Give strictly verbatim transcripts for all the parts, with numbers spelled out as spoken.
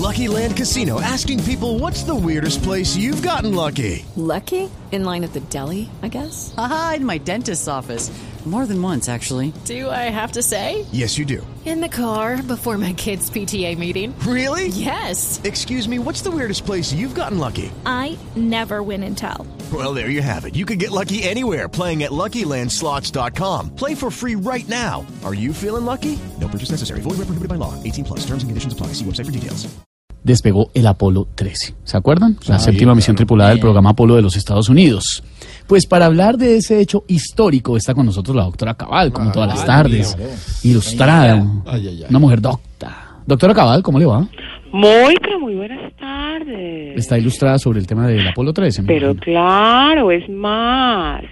Lucky Land Casino, asking people, what's the weirdest place you've gotten lucky? Lucky? In line at the deli, I guess? Aha, in my dentist's office. More than once, actually. Do I have to say? Yes, you do. In the car before my kids' P T A meeting. Really? Yes. Excuse me, what's the weirdest place you've gotten lucky? I never win and tell. Well, there you have it. You can get lucky anywhere, playing at Lucky Land Slots dot com. Play for free right now. Are you feeling lucky? No purchase necessary. Void where prohibited by law. eighteen plus. Terms and conditions apply. See website for details. Despegó el Apolo trece. ¿Se acuerdan? La Ah, séptima bien, misión claro, tripulada del bien. programa Apolo de los Estados Unidos. Pues para hablar de ese hecho histórico está con nosotros la doctora Cabal, como Ah, todas las ay, tardes. claro. Ilustrada. Ay, ay, ay. Una mujer docta. Doctora Cabal, ¿cómo le va? Muy, pero muy buenas tardes. Está ilustrada sobre el tema del Apolo trece. me Pero imagino. claro, es más,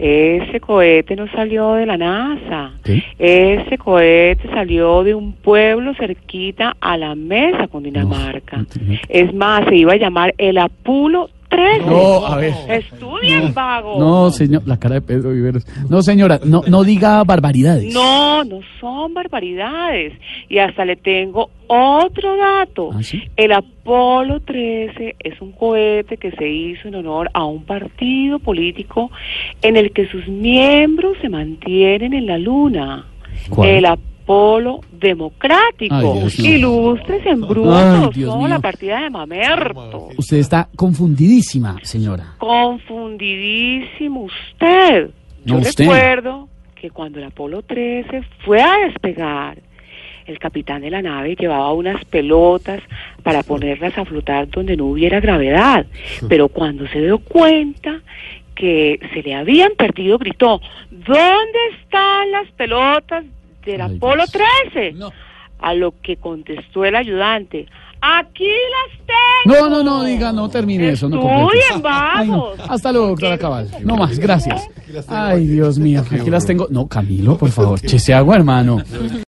ese cohete no salió de la NASA. ¿Qué? Ese cohete salió de un pueblo cerquita a la mesa con Dinamarca. No, no, no. Es más, se iba a llamar el Apolo trece. No, a ver. Estudien, vago. No, señor, la cara de Pedro Viveros. No, señora, no, no diga barbaridades. No, no son barbaridades. Y hasta le tengo otro dato. ¿Ah, sí? El Apolo trece es un cohete que se hizo en honor a un partido político en el que sus miembros se mantienen en la luna. ¿Cuál? El Apolo Democrático. Ay, Dios mío. Ilustres en Ay, brutos, Dios como mío. la partida de Mamerto. Usted está confundidísima, señora. Confundidísimo usted. Yo No, usted. recuerdo que cuando el Apolo trece fue a despegar, el capitán de la nave llevaba unas pelotas para ponerlas a flotar donde no hubiera gravedad, pero cuando se dio cuenta que se le habían perdido, gritó: ¿dónde están las pelotas del Ay, Apolo Dios. trece? No. A lo que contestó el ayudante: aquí las tengo. No, no, no, diga, no termine eso. No complete. Estudien, Ay, no. vagos. Hasta luego, doctora Cabal. No más, gracias. Ay, Dios mío, aquí las tengo. No, Camilo, por favor, chese agua, hermano.